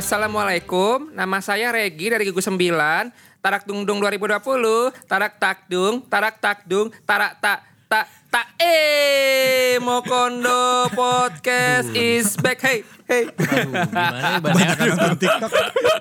Assalamualaikum, nama saya Regi dari Gugus 9. Tarak dung dung 2020, tarak tak dung, tarak tak dung, tarak tak Mokondo podcast is back. Hey. Gimana ya nonton TikTok?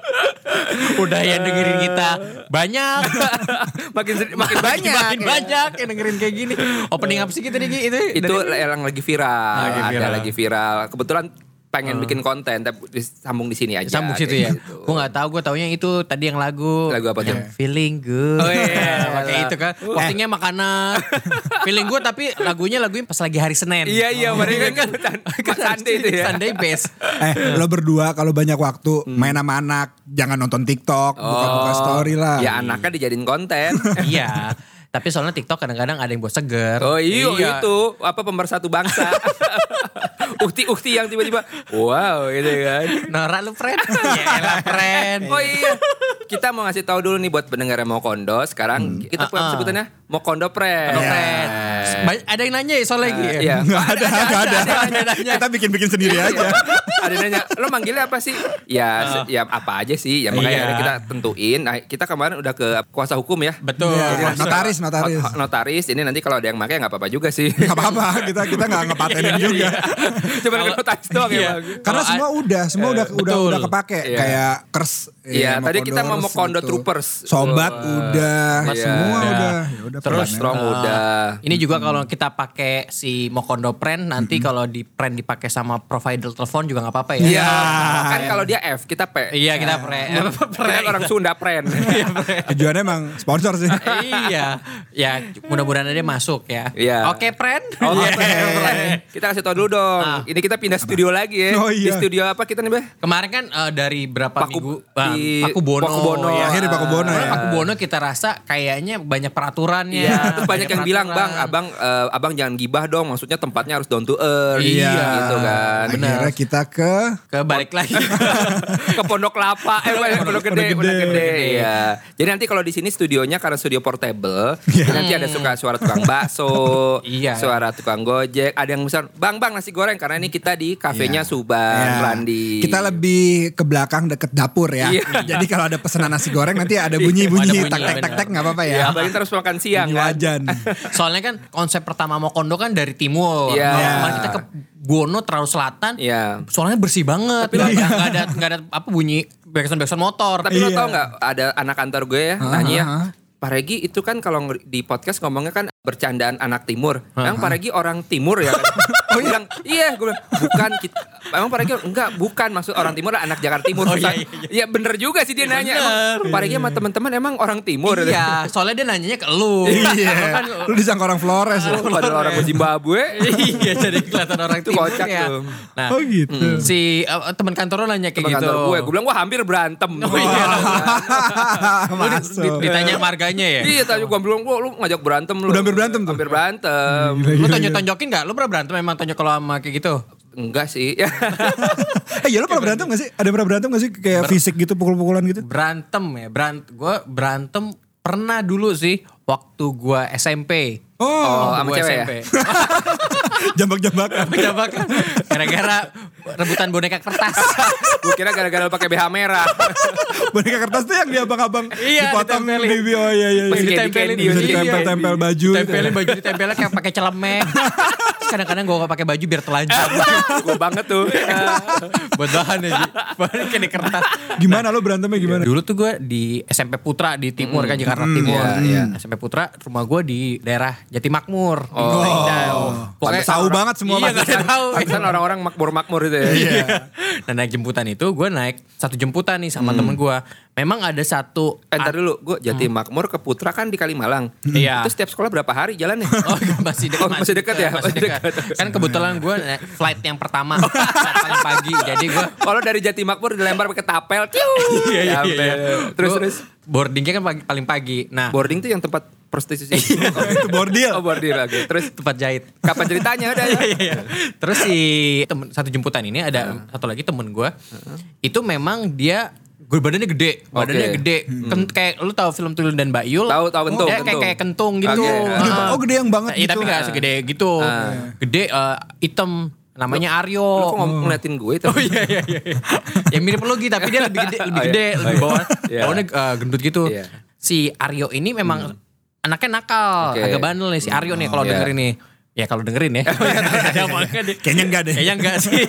Udah yang dengerin kita banyak. makin banyak. Makin banyak yang dengerin kayak gini. Opening apa sih kita nih? Itu yang lagi viral. Ada lagi viral. Kebetulan pengen bikin konten tapi sambung di sini aja. Sambung situ ya. Gitu. Gue nggak tahu, gue taunya itu tadi yang lagu. Lagu apa tuh? Feeling good. Oh iya, pakai itu kan. Postingnya makanan. Feeling good tapi lagunya pas lagi hari Senin. Iya, mereka kan Sunday itu ya. Sunday best. Lo berdua kalau banyak waktu main sama anak, jangan nonton TikTok, buka-buka story lah. Ya anaknya dijadiin konten. Iya. Tapi soalnya TikTok kadang-kadang ada yang buat seger. Oh iya. Itu apa pemersatu bangsa. Ukti yang tiba-tiba wow gitu kan. Nora lu friend. Yaelah friend. Oh iya. Kita mau ngasih tahu dulu nih buat pendengar Mokondo. Sekarang kita sebutannya Mokondo Friend. Ada yang nanya ya soal lagi ya? Iya. Nggak ada. Kita bikin sendiri aja. Ada yang nanya, lo manggilnya apa sih? Ya apa aja sih. Ya makanya kita tentuin. Nah, kita kemarin udah ke kuasa hukum ya. Betul. Ya, notaris. Ini nanti kalau ada yang pakai nggak apa-apa juga sih. Nggak apa-apa. Kita nggak ngepatenin juga. Cuma ke notaris doang ya. Karena semua udah kepake. Kayak kers. Iya, tadi kita mau Mokondo Troopers. Sobat udah, semua udah. Terus strong udah. Ini juga kalau kita pakai si Mokondo Friend nanti kalau di Friend dipakai sama provider telepon juga nggak apa-apa ya. Iya. Kan kalau dia F, kita P. Iya, kita Friend orang Sunda Friend. Tujuannya emang sponsor sih. Iya. Ya, mudah-mudahan dia masuk ya. Iya. Oke, Friend. Kita kasih tau dulu dong. Ini kita pindah studio lagi ya. Oh, iya. Di studio apa kita nih, Beh? Di kan dari berapa minggu Pakubono. Ya. Akhirnya Pakubono ya. Pakubono kita rasa kayaknya banyak peraturannya. Iya, terus banyak yang bilang, "Bang, abang jangan gibah dong. Maksudnya tempatnya harus down to earth." Iya, gitu kan. Akhirnya kita ke balik lagi ke Pondok Kelapa, Pondok Gede. Iya. Jadi nanti kalau di sini studionya karena studio portable, nanti ada suara tukang bakso, suara tukang gojek, ada yang misal, "Bang, nasi goreng," karena ini kita di kafenya Subang, Randi. Kita lebih ke belakang deket dapur ya. Jadi kalau ada pesanan nasi goreng nanti ada bunyi-bunyi tak nggak apa-apa ya. Iya, apalagi terus makan siang kan. Wajan. Soalnya kan konsep pertama Mokondo kan dari timur. Kemarin kita ke Bono terlalu selatan. Soalnya bersih banget. Tapi nggak ada apa bunyi backsound motor. Tapi lo tau nggak ada anak kantor gue ya nanya, "Pak Regi itu kan kalau di podcast ngomongnya kan bercandaan anak timur. Emang Pak Regi orang timur ya?" Gue bilang, "Iya." Gue bilang, "Bukan. Emang Pak Regi bukan. Maksud orang timur lah anak Jakarta Timur." Iya bener juga sih dia nanya. Emang Pak Regi sama teman-teman emang orang timur? Iya. Soalnya dia nanyanya ke lu. Iya. Lu disangka orang Flores ya. Padahal orang Zimbabwe. Iya, jadi kelihatan orang timur kocak ya. tuh. Nah, gitu. Si teman kantor lo nanya kayak gitu. Gue bilang, "Wah, hampir berantem." Masuk. Ditanya marganya ya? Iya, tadi gue bilang, "Lu ngajak berantem lu." Udah hampir berantem tuh. Hampir berantem. Lu tonjok-tonjokin gak? Lu pernah berantem emang tonjok kalau sama kayak gitu? Enggak sih. Iya lu pernah berantem gak sih? Ada pernah berantem gak sih? Kayak fisik gitu, pukul-pukulan gitu? Berantem ya. Gue berantem pernah dulu sih. Waktu gue SMP. Sama cewek ya? Jambak-jambakan. Gara-gara rebutan boneka kertas. Gue kira gara-gara pakai BH merah. Boneka kertas tuh yang di abang-abang dipotong ditempelin. di oh iya. Masih ditempelin. Bisa ditempel-tempel baju. Tempelin baju ditempelin kayak pakai celemek. Kadang-kadang gue gak pakai baju biar telanjang. Gue banget tuh. Buat bahan ya. Bahan kayak di kertas. Gimana lo berantemnya gimana? Dulu tuh gue di SMP Putra di timur kan Jakarta Timur. SMP Putra rumah gue di daerah Jatimakmur. Pokoknya tahu banget semua. Iya gak ada tahu. Pantesan orang-orang makmur-makmur itu ya. Iya. Nah naik jemputan itu gue naik satu jemputan nih sama temen gue. Memang ada satu. Entar dulu, gue Jatimakmur ke Putra kan di Kalimalang. Iya. Itu setiap sekolah berapa hari jalannya? Masih dekat. Masih dekat ya? Masih dekat. Kan kebetulan gue flight yang pertama paling pagi. Jadi gue kalau dari Jatimakmur dilempar pakai tapel. Iya. Terus boardingnya kan paling pagi. Nah boarding tuh yang tempat prostitusi. Itu bordil. Oh bordil lagi. Terus tempat jahit. kapan ceritanya udah ya? Iya. Terus si satu jemputan ini ada satu lagi temen gue. Itu memang dia badannya gede, kayak lu tahu film Tuyul dan Mbak Yul? Tahu kentung. Dia kayak kentung gitu. Oh gede yang banget Iya gitu. tapi gak segede gitu. Gede, hitam. Namanya Aryo. Lu kok ngeliatin gue itu? Oh iya. Ya mirip lu gitu, tapi dia lebih gede, lebih bawah. Bawahnya gendut gitu. Si Aryo ini memang anaknya nakal, agak bandel nih si Aryo nih kalau dengerin nih. Ya kalau dengerin ya. Kayaknya enggak deh. Kayaknya enggak sih.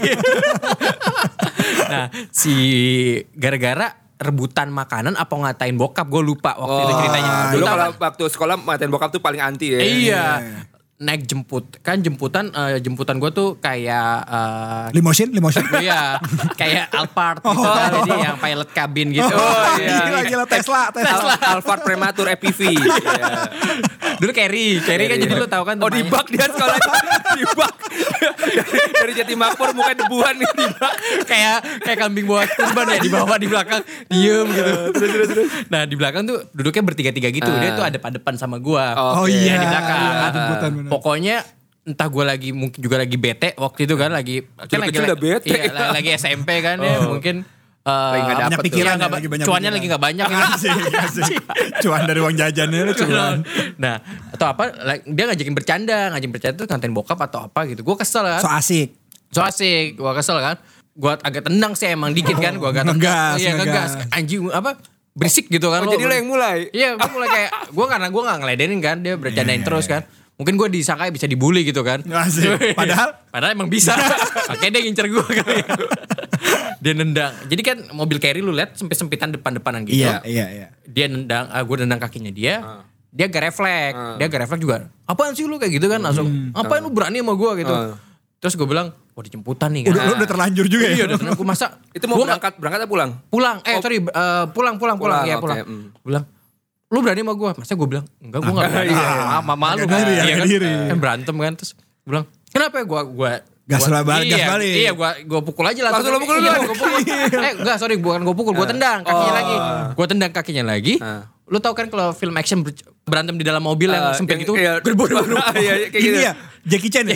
Nah, si gara-gara rebutan makanan apa ngatain bokap, gue lupa waktu itu ceritanya. Dulu kalau waktu sekolah ngatain bokap tuh paling anti ya. Iya. Naik jemputan gue tuh kayak limosin. Iya, kayak Alphard gitu jadi yang pilot kabin gitu. Gila Tesla. Alphard prematur EPV. Dulu Carry kan jadi lu tahu kan. Oh di bak dia sekolah di bak. Dari Jatimakmur mukanya debuan nih di bak. Kayak kambing bawa kurban ya, di bawah di belakang diem gitu. Terus. Nah di belakang tuh duduknya bertiga-tiga gitu. Dia tuh depan sama gua. Oh iya di belakang. Jemputan. Pokoknya entah gue mungkin juga lagi bete waktu itu kan lagi udah bete. Iya, lagi SMP kan ya mungkin banyak pikiran cuannya lagi gak banyak Asik. Cuan dari uang jajannya cuan. Nah atau apa dia ngajakin bercanda tuh ngatain bokap atau apa gitu. Gue kesel kan. So asik gue kesel kan. Gue agak tendang sih emang dikit kan. Gue agak ngegas. Anjing apa berisik gitu kan. Jadi lo yang mulai. Iya gue mulai kayak karena gue gak ngeledenin kan. Dia bercandain terus kan. Mungkin gue disangka bisa dibully gitu kan. Padahal emang bisa. Makanya dia ngincer gue kali. Dia nendang. Jadi kan mobil Carry lu lihat sempitan depan-depanan gitu. Iya. Dia nendang, gue nendang kakinya dia. Dia gak refleks. Dia gak refleks juga. Apaan sih lu kayak gitu kan langsung. Apaan lu berani sama gue gitu. Terus gue bilang, dijemputan nih kan. Udah terlanjur juga ya. Iya udah terlanjur. Gue masa. Itu mau berangkat atau pulang? Pulang. Pulang. Iya pulang. Bilang. Lu berani sama gue? Masa gue bilang, enggak gue gak berani. Mama lu kan. Kan berantem kan. Terus gue bilang, kenapa ya gue gas balik. Iya gue pukul aja lah. Langsung lu pukul dulu. Enggak sorry bukan gue pukul. Gue tendang kakinya lagi. Gue tendang kakinya lagi. Lu tau kan kalau film action berantem di dalam mobil yang sempit gitu. Gerbo. Iya kayak gitu. Iya. Jackie Chan ya?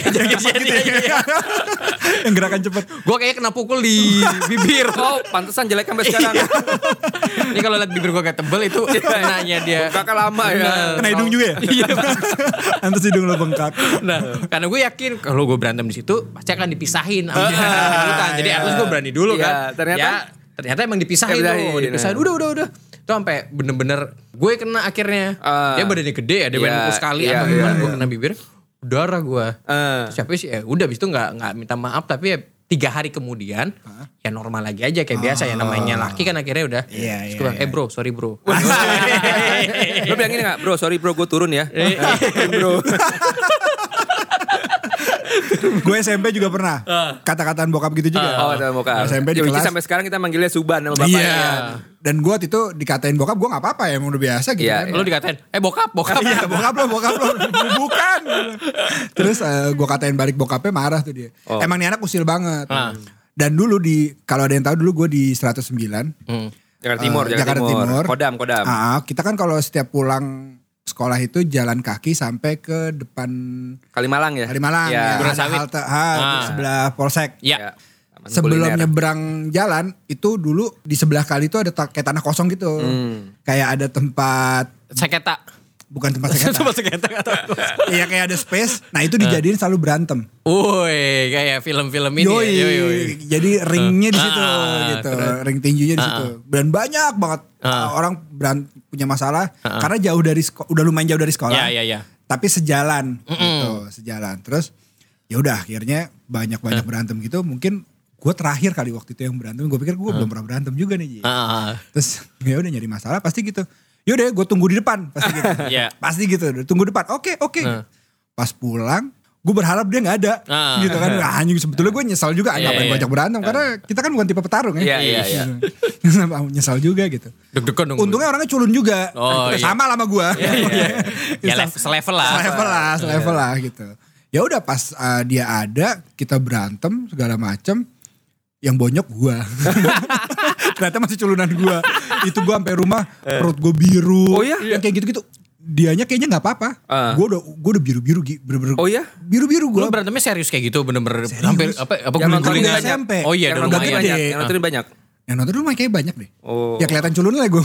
Yang gerakan cepet. Gue kayaknya kena pukul di bibir. Oh pantesan jelek sampai sekarang. Ini kalau liat bibir gue gak tebel itu kenanya dia. Bengkaknya lama ya. Kena hidung juga ya? Iya. Pantes hidung lo bengkak. Nah karena gue yakin kalau gue berantem di situ pasti akan dipisahin. Jadi harus gue berani dulu kan. Ternyata emang dipisahin tuh. Dipisahin udah. Itu sampai bener-bener gue kena akhirnya. Dia badannya gede ya. Dia badan sekali atau gimana gue kena bibir. Darah gue. Siapa sih udah abis itu gak minta maaf. Tapi ya 3 hari kemudian ya normal lagi aja kayak biasa ya. Namanya laki kan akhirnya udah. Terus gue bilang bro sorry bro. Lo bilang ini gak bro sorry bro gue turun ya. Bro. Gue SMP juga pernah kata-kataan bokap gitu juga. Kata bokap. SMP di kelas. Sampai sekarang kita manggilnya Suban sama bapaknya. Iya. Dan gue waktu itu dikatain bokap, gue gak apa-apa ya, emang udah biasa gitu kan. Lu dikatain, bokap. Iya bokap lo. Bukan. Terus gue katain balik bokapnya marah tuh dia. Emang nih anak usil banget. Dan dulu kalau ada yang tahu dulu gue di 109. Jakarta Timur. Kodam. Kita kan kalau setiap pulang sekolah itu jalan kaki sampai ke depan Kalimalang ya. Ya. Ada halte sebelah Polsek. Iya. Sebelum nyebrang jalan itu dulu di sebelah kali itu ada kayak tanah kosong gitu. Kayak ada tempat seketa. Bukan tempat seketa. Iya kayak ada space. Nah itu dijadiin selalu berantem. Woi, kayak film-film ini. Yoi. Jadi ringnya di situ gitu. Ring tinjunya di situ. Dan banyak banget orang punya masalah karena udah lumayan jauh dari sekolah. Iya. Tapi sejalan gitu, sejalan. Terus ya udah akhirnya banyak berantem gitu. Mungkin gue terakhir kali waktu itu yang berantem. Gue pikir gue belum pernah berantem juga nih. Terus ya udah nyari masalah pasti gitu. Yaudah gue tunggu di depan pasti gitu. Pasti gitu, tunggu depan. Oke. Pas pulang gue berharap dia gak ada gitu kan. Anjing sebetulnya gue nyesal juga ngapain banyak berantem. Karena kita kan bukan tipe petarung ya. Iya. Nyesal juga gitu. Deg-degan dong. Untungnya orangnya culun juga. Sama lah sama gue. Ya selevel lah gitu. Ya udah pas dia ada kita berantem segala macem. Yang bonyok gue. Ternyata masih culunan gue. Itu gue sampai rumah perut gue biru. Oh iya? Yang kayak gitu-gitu. Dianya kayaknya gak apa-apa. Gue udah biru-biru. Oh iya? Biru-biru gue. Lu berantemnya serius kayak gitu bener-bener. Hampir apa yang nontonin SMP. Oh iya. Yang nontonin banyak. Yang nonton dulu kayaknya banyak deh. Oh. Ya kelihatan culun lah gue.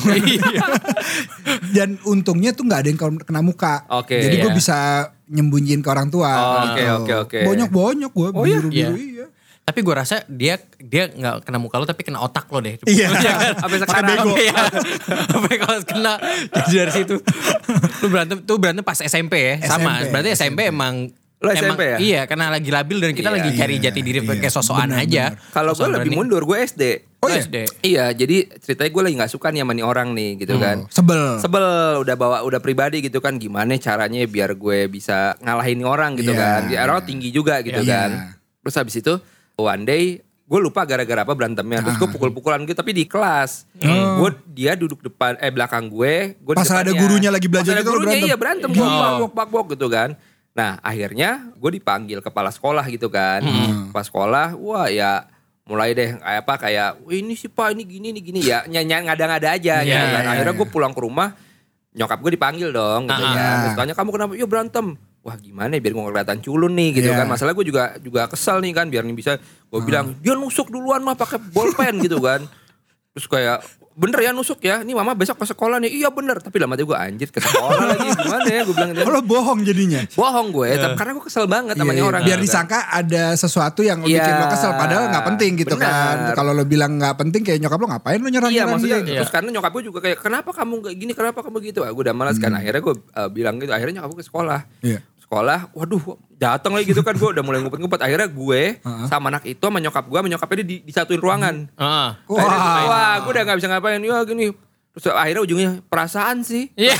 Dan untungnya tuh gak ada yang kena muka. Jadi gue bisa nyembunyiin ke orang tua. Oke. Banyak gue biru-biru iya. Tapi gue rasa dia gak kena muka lo tapi kena otak lo deh. Iya. Sampai sekarang. Sampai kalau kena. Jadi dari situ. Lu berantem pas SMP ya. Sama. Berarti SMP emang. Lo SMP ya? Iya, karena lagi labil dan kita lagi cari jati diri kayak sosokan aja. Kalau gue lebih mundur, gue SD. Oh iya? SD. Iya, jadi ceritanya gue lagi gak suka nih sama nih orang nih gitu kan. Sebel, udah pribadi gitu kan. Gimana caranya biar gue bisa ngalahin nih orang gitu kan. Dia orang tinggi juga gitu kan. Terus habis itu, one day gue lupa gara-gara apa berantemnya. Terus gue pukul-pukulan gitu tapi di kelas. Dia duduk belakang gue di pas depannya. ada gurunya lagi belajar gitu berantem. Iya berantem. Bak-bak gitu kan. Nah akhirnya gue dipanggil kepala sekolah gitu kan. Kepala sekolah, wah ya mulai deh kayak ini sih Pak ini gini ya ngada-ngada aja gitu kan. Akhirnya gue pulang ke rumah, nyokap gue dipanggil dong gitu ya. Terus tanya kamu kenapa? Ya berantem. Wah gimana ya biar gue gak kelihatan culun nih gitu kan. Masalah gue juga kesel nih kan biar nih bisa gue bilang dia nusuk duluan mah pakai bolpen gitu kan. Terus kayak bener ya nusuk ya, ini mama besok ke sekolah nih. Iya bener, tapi lama aja gue anjir ke sekolah lagi gimana ya gue bilang. Kalau bohong jadinya. Bohong gue, karena gue kesel banget sama nih orang. Biar disangka ada sesuatu yang bikin lo kesel, padahal gak penting gitu kan. Kalau lo bilang gak penting kayak nyokap lo ngapain lo nyerang-nyerang maksudnya, dia. Terus karena nyokap gue juga kayak kenapa kamu gak gini, kenapa kamu gitu. Gue udah malas kan, akhirnya gue bilang gitu, akhirnya nyokap gue ke sekolah. Sekolah, waduh datang lagi gitu kan, gue udah mulai ngumpet-ngumpet. Akhirnya gue sama anak itu sama nyokapnya disatuin ruangan. Wah gue udah gak bisa ngapain, ya gini. Terus akhirnya ujungnya perasaan sih. Terus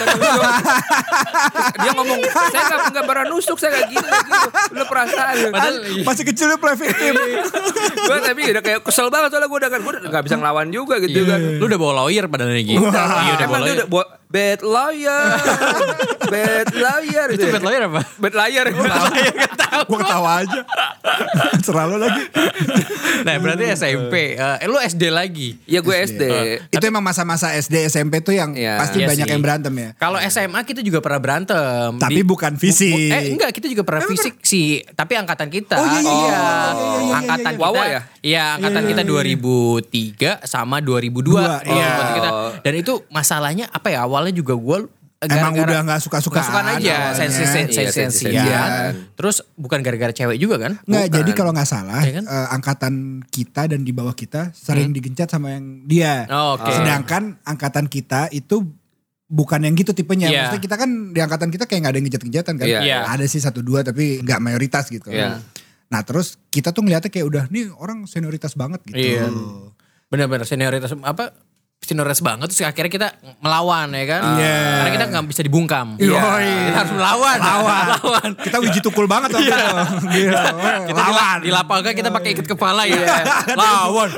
dia ngomong, saya gak pernah nusuk, saya gak gitu. Lu perasaan. Padahal masih kecil lu play victim. Gue tapi udah kayak kesel banget soalnya gue udah gak bisa ngelawan juga gitu kan. Lu udah bawa lawyer padahal lagi. Iya udah bawa lawyer. Bad lawyer. Bad lawyer. Itu bad lawyer apa? Bad lawyer. Gue ketawa aja. Serah lo lagi. Nah berarti SMP. Lu SD lagi? Iya gue SD. Itu emang masa-masa SD SMP tuh yang pasti banyak yang berantem ya. Kalau SMA kita juga pernah berantem. Tapi bukan fisik. Enggak, kita juga pernah fisik sih. Tapi angkatan kita. Oh iya. Angkatan kita. Wawa ya? Iya, angkatan kita 2003 sama 2002. Kita. Dan itu masalahnya apa ya? Awalnya juga gue emang udah gak suka-sukaan aja, sensi-sensian. Terus bukan gara-gara cewek juga kan? Nggak, jadi kalau gak salah angkatan kita dan di bawah kita sering digencat sama yang dia. Sedangkan angkatan kita itu bukan yang gitu tipenya. Maksudnya kita kan di angkatan kita kayak gak ada yang gencat-genjatan kan. Ada sih 1-2 tapi gak mayoritas gitu. Nah terus kita tuh ngeliatnya kayak udah nih orang senioritas banget gitu. Benar-benar senioritas senioritas banget terus akhirnya kita melawan ya kan. Karena kita gak bisa dibungkam. Kita harus melawan. Kita wiji tukul banget waktu itu. Kita di lapangan kita pakai ikat kepala ya. Lawan.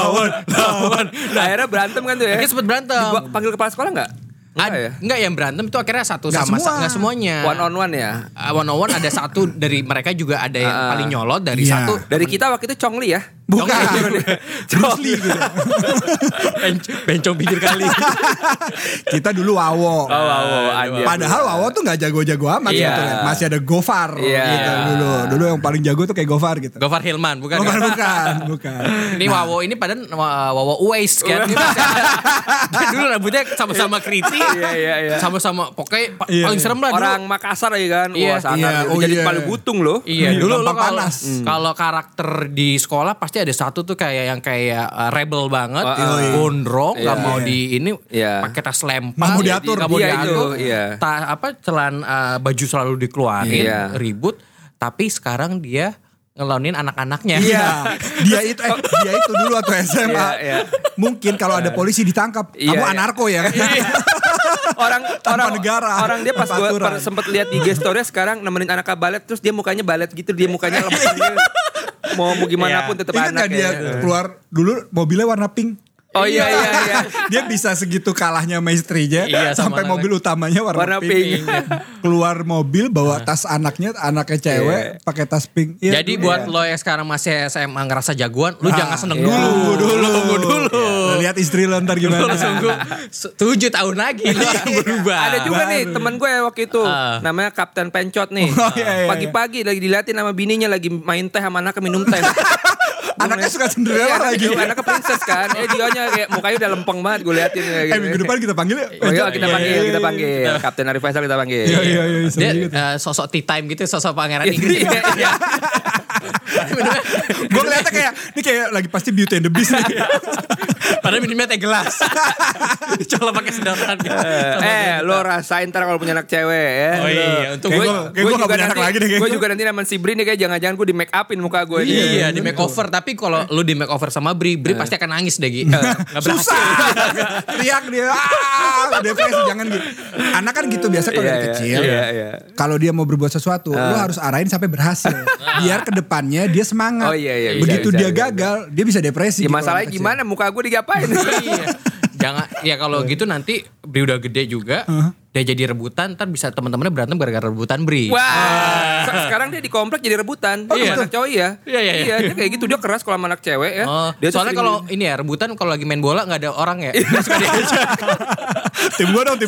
Nah, akhirnya berantem kan tuh ya. Kita sempet berantem. Panggil kepala sekolah gak? Enggak yang berantem itu akhirnya satu sama enggak semuanya. One on one ya. One on one ada satu dari mereka juga ada yang paling nyolot dari satu. Dari kita waktu itu Chongli ya. Bukan. Bruce Lee gitu. Bencong pinggir kali. Kita dulu Wawo. Padahal Wawo tuh gak jago-jago amat gitu. Masih ada Gofar gitu dulu. Dulu yang paling jago tuh kayak Gofar gitu. Gofar Hilman bukan. Ini Wawo ini padahal Wawo Uwais kan. Dulu rambutnya sama-sama kritik. Sama-sama pokoknya paling serem lah. Orang Makassar ya kan. Wah sangat. Jadi paling butung loh. Dulu kalau karakter di sekolah pasti ada satu tuh kayak rebel banget, gondrong, gak mau di ini, pakai tas lempar, gak mau diatur, baju selalu dikeluarin, ribut. Tapi sekarang dia ngelonin anak-anaknya. Dia itu dulu atau SMA. Mungkin kalau ada polisi ditangkap, kamu anarko ya. Orang dia pas gue sempet lihat di story sekarang nemenin anak balet terus dia mukanya balet gitu, dia mukanya lemes. Mau gimana pun tetap anak. Dia keluar dulu mobilnya warna pink. Oh iya. Dia bisa segitu kalahnya sama istrinya sampai mobil utamanya warna pink. Keluar mobil bawa tas anaknya cewek pakai tas pink. Jadi buat lo yang sekarang masih SMA ngerasa jagoan, lu jangan seneng dulu. Lihat istri lo ntar gimana. 7 tahun lagi lo berubah. Ada juga nih teman gue waktu itu namanya Kapten Pencot nih. Pagi-pagi lagi diliatin sama bininya lagi main teh sama anaknya minum teh. Anaknya suka Cinderella lagi. Anaknya princess kan. Dionya kayak mukanya udah lempeng banget gue liatin kayak minggu depan kita panggil ya. Kita panggil. Kapten Arif Faisal kita panggil. Iya. Dia sosok tea time gitu, sosok pangeran Inggris. Gue ngeliatnya kayak lagi pasti Beauty and the Beast nih. Padahal minumnya teh gelas. Coba pakai sedotan. Lo rasain ntar kalau punya anak cewek ya. Oh iya, untuk gue gak punya anak lagi deh. Gue juga nanti sama si Bri nih kayak jangan-jangan gue di make upin muka gue. Iya, di make over. Tapi kalau lu di make over sama Bri pasti akan nangis deh Gi. Susah. Teriak dia. Depresi jangan gitu. Anak kan gitu biasa kalau dari kecil. Kalau dia mau berbuat sesuatu, lu harus arahin sampai berhasil. Biar kedepannya dia semangat. Oh iya. Begitu dia gagal, dia bisa depresi. Ya masalahnya gimana muka gue digapain? Iya. Jangan ya kalau gitu nanti Bri udah gede juga, dia jadi rebutan, ntar bisa teman-temannya berantem gara-gara rebutan Bri. Wah, sekarang dia di komplek jadi rebutan. Iya. Anak cowok ya. Iya. Dia kayak gitu, dia keras kalau sama anak cewek ya. Dia soalnya kalau ini ya rebutan kalau lagi main bola nggak ada orang ya. Suka dia aja. Tim gue dong.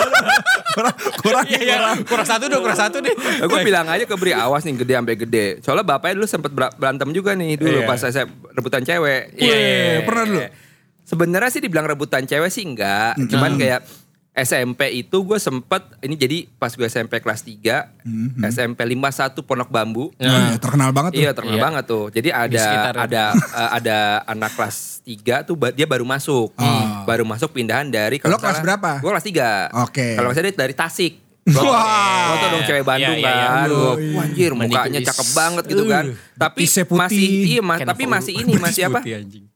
Kurang satu deh. Gue bilang aja ke Bri, awas nih gede sampai gede. Soalnya bapaknya dulu sempet berantem juga nih dulu pas saya rebutan cewek. Iya, pernah dulu. Sebenarnya sih dibilang rebutan cewek sih enggak. Cuman kayak SMP itu gue sempet, ini jadi pas gue SMP kelas 3, SMP 51 Pondok Bambu. Terkenal banget tuh. Iya terkenal banget tuh. Jadi ada anak kelas 3 tuh dia baru masuk. Baru masuk pindahan dari. Lo kelas berapa? Gue kelas 3. Oke. Kalau saya dari Tasik. Wah, tau dong cewek Bandung kan. Wah anjir mukanya cakep banget gitu kan. Tapi masih apa?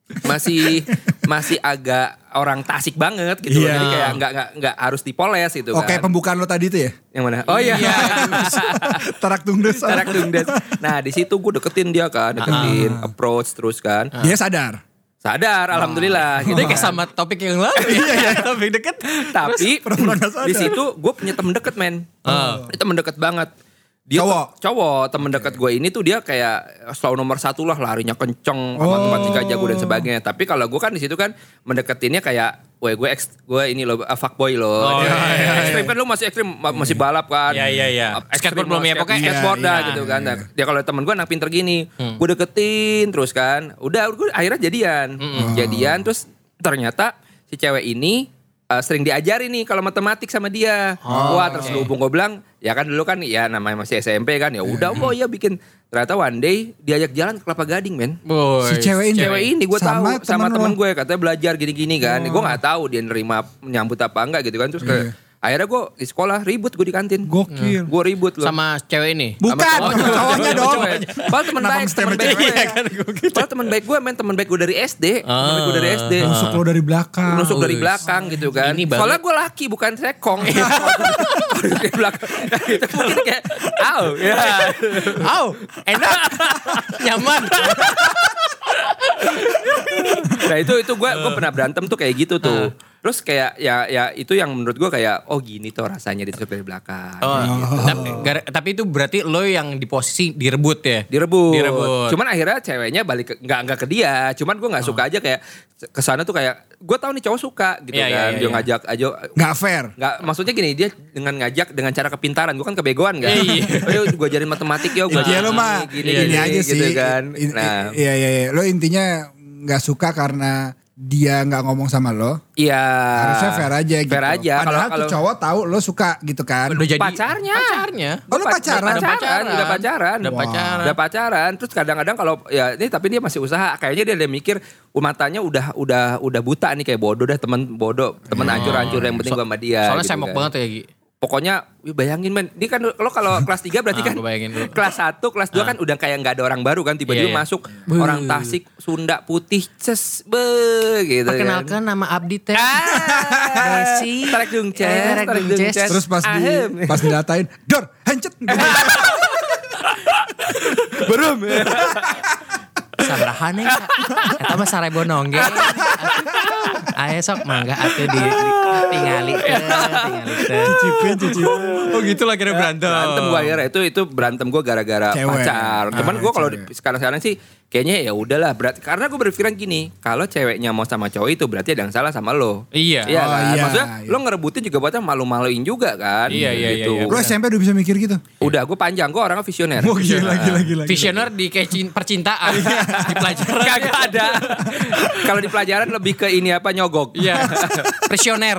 Masih agak orang Tasik banget gitu. Jadi kayak nggak harus dipoles gitu kan. Oke, pembukaan lo tadi itu ya? Yang mana? Oh iya. Tarak Tungdes. Nah di situ gue deketin dia kan, approach terus kan. Dia sadar, alhamdulillah. Gitu kayak sama topik yang lalu. Iya, topik deket. Tapi di situ gue punya temen deket men. Itu temen deket banget. Dia cowok temen dekat gue ini tuh dia kayak selalu nomor 1 lah, larinya kenceng, matematika jago dan sebagainya. Tapi kalau gue kan di situ kan mendeketinnya kayak, gue ini lo fuckboy lo. Ekstrim kan lu masih ekstrim, masih balap kan. Iya. Skateboard belum ya pokoknya. Skateboard dah gitu kan. Dia kalau temen gue anak pinter gini, gue deketin terus kan. Udah gue akhirnya jadian terus ternyata si cewek ini sering diajarin nih kalau matematik sama dia. Wah terus hubung gue bilang, ya kan dulu kan ya namanya masih SMP kan, ya udah bikin. Ternyata one day diajak jalan ke Kelapa Gading men. Si cewek ini gue tahu sama temen gue katanya belajar gini-gini kan. Gue nggak tahu dia nerima nyambut apa enggak gitu kan. Terus akhirnya gue di sekolah ribut gue di kantin. Gokil. Gue ribut loh. Sama cewek ini? Bukan, cowoknya dong. Padahal temen baik gue. Padahal temen baik gue temen baik gue dari SD. Nusuk lo dari belakang. Nusuk dari belakang gitu kan. Soalnya gue laki bukan sekong. Dari belakang. Itu mungkin kayak, enak, nyaman. Nah itu gue pernah berantem tuh kayak gitu tuh. Terus kayak ya itu yang menurut gue kayak gini tuh rasanya ditusuk dari belakang. Tapi itu berarti lo yang di posisi direbut ya? Direbut. Cuman akhirnya ceweknya balik nggak ke dia. Cuman gue nggak suka aja kayak kesana tuh kayak gue tahu nih cowok suka gitu kan. Dia ngajak aja. Nggak fair. Nggak, maksudnya gini, dia dengan ngajak dengan cara kepintaran. Gue kan kebegoan kan. Gue ajarin matematik ya. Iya lo mah gini aja sih. Gitu kan. Nah. Iya. Lo intinya nggak suka karena dia nggak ngomong sama lo. Iya. Harusnya fair aja gitu. Fair aja. Padahal tuh cowok tahu lo suka gitu kan. Udah jadi pacarnya. Oh lo pacaran? Udah pacaran. Terus kadang-kadang kalau ya ini tapi dia masih usaha. Kayaknya dia mikir matanya udah buta nih, kayak bodoh dah, temen hancur-hancur yang penting gue sama dia. Soalnya gitu semok kan. banget ya Gi. Pokoknya bayangin men, dia kan lo kalau kelas 3 berarti kan kelas 1, kelas 2 kan udah kayak gak ada orang baru kan, tiba-tiba masuk orang Tasik, Sunda putih, gitu. Perkenalkan kan. Nama Abdi teh. Desi. Tarik dung ces. Terus pas didatain, dor, hancet. Belum. Sabarahan ya. Eta mah sarebonongge. Ayo sok mangga atuh tingali teh. Cicipin. Oh gitu lah kira berantem. Berantem gue akhirnya itu berantem gue gara-gara pacar. Cuman gue kalau sekarang sih kayaknya ya udahlah berat karena gue berpikiran gini, kalau ceweknya mau sama cowok itu berarti ada yang salah sama lo. Iya. Iya kan? iya, Maksudnya iya. lo ngerebutin juga buatnya malu-maluin juga kan. Iya, gitu. Lo SMP udah bisa mikir gitu? Udah gue panjang, gue orangnya visioner. Oh gila. Visioner di kayak percintaan di pelajaran. Kagak ada. Kalau di pelajaran lebih ke ini apa nyogok. Iya. Prisioner.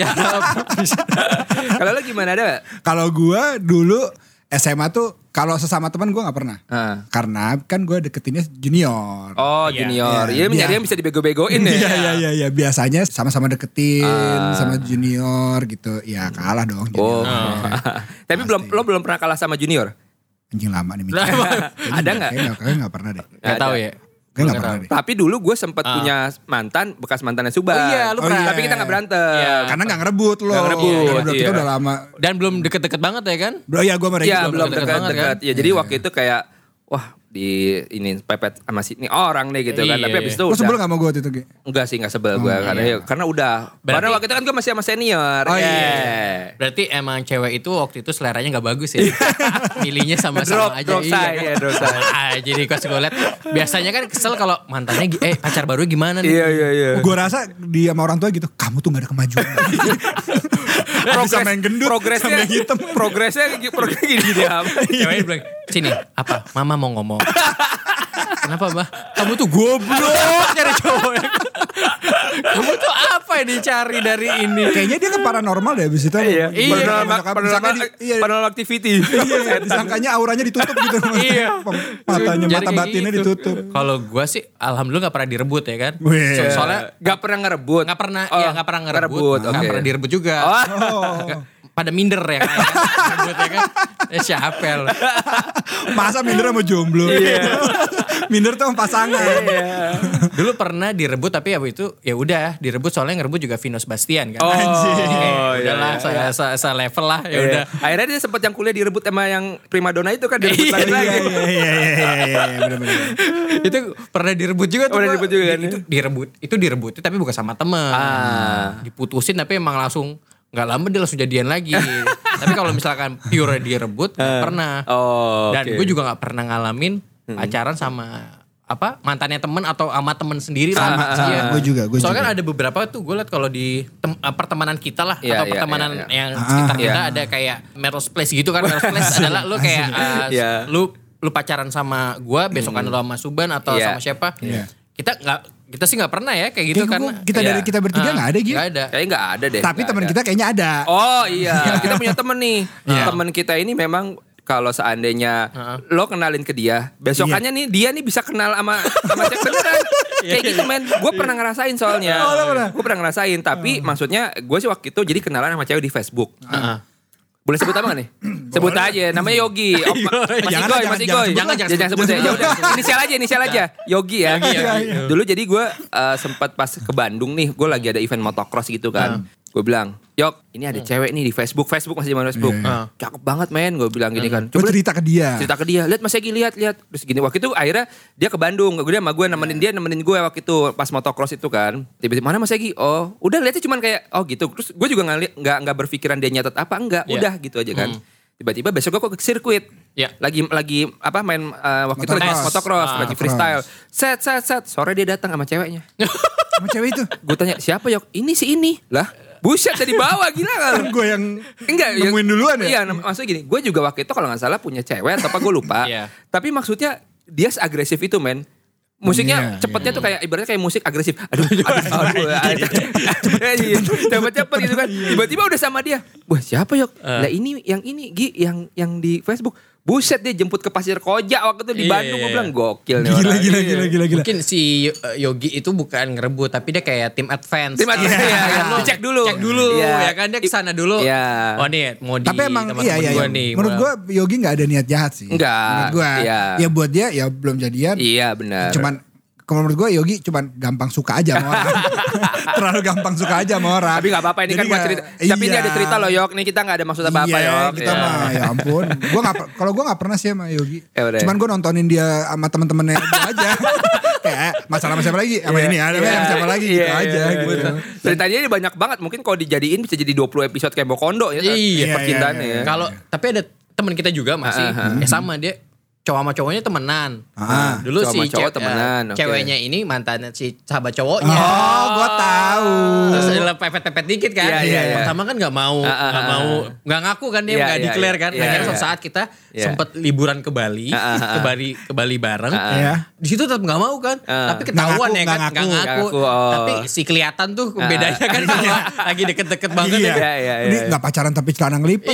Kalau lo gimana ada? Kalau gue dulu SMA tuh kalau sesama teman gue nggak pernah. Karena kan gue deketinnya junior. Oh junior. Iya mencari yang bisa dibego-begoin ya. Iya. Biasanya sama-sama deketin sama junior gitu. Ya kalah dong junior. Tapi lo belum pernah kalah sama junior? Anjing lama nih mikir. Ada nggak? Kayaknya gak pernah deh. Gak tahu ya. Kayaknya gak pernah deh. Tapi dulu gue sempat punya mantan, bekas mantannya Subhan. Oh iya, lu pernah. Tapi kita gak berantem. Iya. Karena gak ngerebut loh. Gak ngerebut, Kita iya. udah lama. Dan belum deket-deket banget ya kan? Bro ya gue mereka Iya belum deket-deket banget dekat-dekat. kan? Ya jadi waktu itu kayak, wah di ini pepet sama ini orang nih gitu kan. Iya, Tapi abis itu Lo udah. sebel gak sama gue waktu itu Gi? Enggak sih, gak sebel gue. Karena udah. Karena waktu itu kan gue masih sama senior. Oh, iya. Berarti emang cewek itu waktu itu seleranya gak bagus ya. Milihnya sama-sama aja. Drop say, Iya. ya, drop say. Jadi pas gue liat. Biasanya kan kesel kalau mantannya pacar baru gimana nih. Iya. Gue rasa dia sama orang tua gitu, kamu tuh gak ada kemajuan. Sama yang gendut, progresnya sama yang hitam. Progresnya gini apa? Ceweknya bilang, sini apa mama mau ngomong. Kenapa mbak? Kamu tuh goblok cari cowok. Kamu tuh apa yang dicari dari ini? Kayaknya dia ke paranormal deh abis itu. Iya. Iya. Paranormal activity. Iya, disangkanya auranya ditutup gitu. Iya. Matanya, Jadi mata kayak batinnya gitu. ditutup. Kalau gue sih alhamdulillah gak pernah direbut ya kan. Wih. Soalnya Gak pernah ngerebut. gak pernah gak pernah ngerebut, ngerebut. Gak oke. pernah direbut juga. Pada minder ya kan. Direbut ya kan. Siapa lo? Masa minder sama jomblo. Minder tuh sama pasangan. Dulu pernah direbut tapi abis itu ya udah direbut soalnya ngerebut juga Vino Sebastian kan. Anjir. Udahlah saya level lah ya udah. Akhirnya dia sempat yang kuliah direbut sama yang primadona itu kan direbut lagi. Iya, bener-bener. Itu pernah direbut juga tuh. Pernah direbut juga kan? Itu direbut tapi bukan sama temen. Diputusin tapi emang langsung nggak lama dia langsung jadian lagi. Tapi kalau misalkan pure direbut nggak pernah. Dan gue juga nggak pernah ngalamin pacaran sama mantannya temen atau sama temen sendiri lah. Sama, gue juga. Soalnya kan ada beberapa tuh gue liat kalau di pertemanan kita lah Iya, atau iya, pertemanan iya. yang sekitar kita ada kayak Melrose Place gitu kan. Melrose Place adalah lu kayak lu pacaran sama gue besokan lu sama Subhan atau sama siapa. Kita sih nggak pernah ya kayak gitu karena dari kita bertiga nggak ada gitu. Nggak ada. Kayaknya gak ada deh. Tapi teman kita kayaknya ada. Oh iya, kita punya temen nih. Temen kita ini memang kalau seandainya lo kenalin ke dia, besokannya nih dia nih bisa kenal sama cewek beneran. Kayak gitu men. Gue pernah ngerasain soalnya. Gue pernah ngerasain. Tapi maksudnya gue sih waktu itu jadi kenalan sama cewek di Facebook. Boleh sebut apa gak nih? Sebut aja, namanya Yogi. Mas Igoy. Jangan sebut ya. Udah, inisial aja. Yogi ya. Dulu jadi gue sempat pas ke Bandung nih, gue lagi ada event motocross gitu kan. Gue bilang, Yok, ini ada cewek nih di Facebook masih zaman Facebook. Cakep banget men, gue bilang gini kan. Coba cerita ke dia. Lihat Mas Egi, lihat. Terus gini, waktu itu akhirnya dia ke Bandung. Dia sama gue nemenin gue waktu itu pas motocross itu kan. Tiba-tiba mana Mas Egi? Oh, udah lihatnya cuman kayak oh gitu. Terus gue juga nggak berpikiran dia nyatet apa enggak. Udah gitu aja kan. Tiba-tiba besok gue ke sirkuit. Lagi main waktu itu lagi motocross, lagi freestyle. Set. Sore dia datang sama ceweknya. Sama cewek itu. Gue tanya, "Siapa, Yok?" Ini. Lah, buset dari bawah gila kan. Gue yang nemuin duluan ya. Iya, maksudnya gini, gue juga waktu itu kalau nggak salah punya cewek atau apa gue lupa. Tapi maksudnya dia seagresif itu men. Musiknya cepetnya tuh kayak ibaratnya kayak musik agresif. Aduh. Cepet gitu kan. Tiba-tiba udah sama dia. Wah siapa Yok? Lah ini Gi yang di Facebook. Buset dia jemput ke Pasir Koja waktu itu di Bandung. Gue bilang gokil nih orang. Gila. Mungkin si Yogi itu bukan ngerebut tapi dia kayak tim advance. Cek dulu ya kan dia kesana dulu. Oh nih mau di tapi emang iya. nih. Menurut gue Yogi gak ada niat jahat sih. Enggak. Menurut gue ya buat dia ya belum jadian. Iya benar. Cuman kalau menurut gue Yogi cuman gampang suka aja sama orang. Terlalu gampang suka aja sama orang. Tapi gak apa-apa ini kan buat cerita. Tapi ini ada cerita loh Yok. Nih kita gak ada maksud apa-apa Yok. Kita mah ya ampun. Kalau gue gak pernah sih sama Yogi. Cuman gue nontonin dia sama temen-temennya dia aja. Kayak masalah siapa lagi. Sama ini ada yang siapa lagi gitu aja gitu. Ceritanya ini banyak banget. Mungkin kalau dijadiin bisa jadi 20 episode kayak Bokondo ya. Iya. Percintaannya ya. Kalau tapi ada teman kita juga masih sama dia cowok sama cowoknya temenan. Dulu cowok si cowok temenan. Ceweknya ini mantannya si sahabat cowoknya. Oh, gue tahu. Terus pepet-pepet dikit kan. Iya. Pertama kan nggak mau, nggak ngaku kan dia, nggak declare kan. Akhirnya suatu saat kita sempet liburan ke Bali, ke Bali bareng. Di situ tetap nggak mau kan. Tapi ketahuan ya kan, nggak ngaku. Tapi si kelihatan tuh bedanya kan kalau lagi deket-deket banget. Ini nggak pacaran tapi celana ngelipet.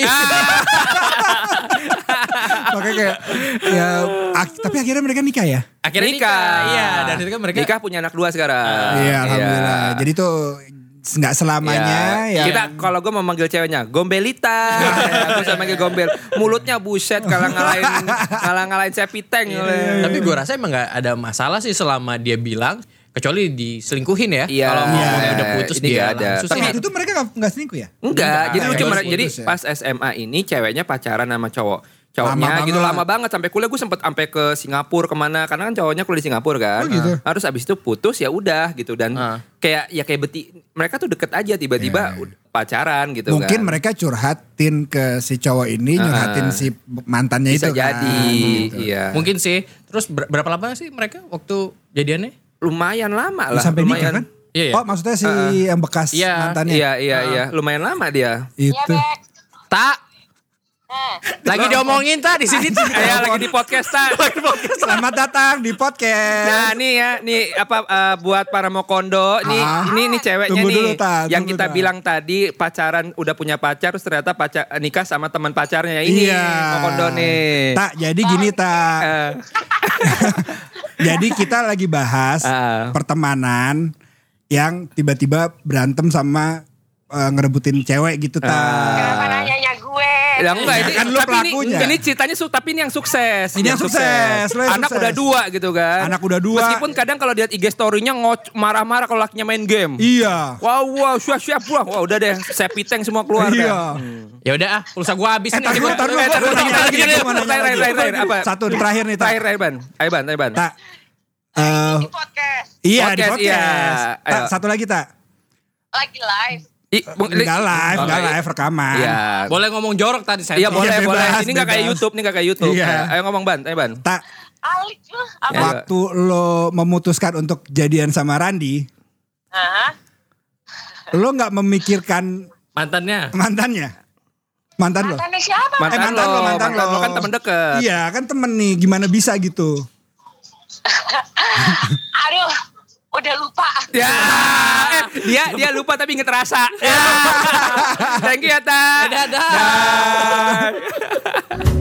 Makanya kayak tapi akhirnya mereka nikah ya? Akhirnya nikah. Iya, dan itu kan mereka nikah punya anak 2 sekarang. Iya, alhamdulillah. Jadi tuh nggak selamanya ya. Kita kalau gue mau manggil ceweknya Gombelita. Gue sama manggil Gombel. Mulutnya buset ngalahin Sepiteng. Tapi gue rasa emang gak ada masalah sih selama dia bilang, kecuali diselingkuhin ya. Kalau udah putus dia ada. langsung. Tapi itu mereka nggak selingkuh ya? Enggak. Jadi lucu jadi ya. pas SMA ini ceweknya pacaran sama cowoknya gitu lama banget sampai kuliah gue sempet sampai ke Singapura kemana karena kan cowoknya kuliah di Singapura kan. Gitu. Harus abis itu putus ya udah gitu dan kayak mereka tuh deket aja tiba-tiba pacaran gitu. Mungkin kan. mereka curhatin ke si cowok ini, nyurhatin si mantannya bisa itu jadi, kan. Gitu. Iya. Mungkin sih. Terus berapa lama sih mereka waktu jadiannya? Lumayan lama lah. Sampai nikah kan? Iya. Oh maksudnya si yang bekas mantannya? Iya. Lumayan lama dia. Itu. Tak. Lagi diomongin di sini. Lagi di podcast Selamat datang di podcast. Nah nih buat para Mokondo ini ceweknya Tunggu nih dulu, yang kita bilang tadi pacaran udah punya pacar terus ternyata nikah sama teman pacarnya ini Mokondo nih. Tak jadi gini tak. Jadi kita lagi bahas pertemanan yang tiba-tiba berantem sama ngerebutin cewek gitu tak. Kenapa nanyanya gue? Ya enggak ini kan lu pelakunya. Ini ceritanya tapi ini yang sukses. Ini yang sukses. Anak udah 2 gitu kan. Anak udah 2. Meskipun kadang kalau lihat IG story-nya marah-marah kalau lakinya main game. Iya. Wow, siap. Wah, udah deh, Sepiteng semua keluar. Iya. Ya udah pulsa gua habis nih. Terakhir apa? Satu terakhir nih tak. Terakhir Ban. Tak. Di podcast. Iya di Podcast, podcast. iya. Tak, satu lagi tak. Lagi live. Enggak live rekaman. Iya. Boleh ngomong jorok tadi saya. Iya boleh. bebas, Ini nggak kayak YouTube, Iya. Ayo ngomong Ban. Tak. Alik lu. Apa? Waktu lo memutuskan untuk jadian sama Randi, lo nggak memikirkan mantannya? Mantan lo? Mantannya siapa? Mantan lo kan temen deket. Iya kan temen nih, gimana bisa gitu? Aduh, udah lupa. Ya, dia lupa tapi inget rasa. Thank you ya, Ta. Dadah.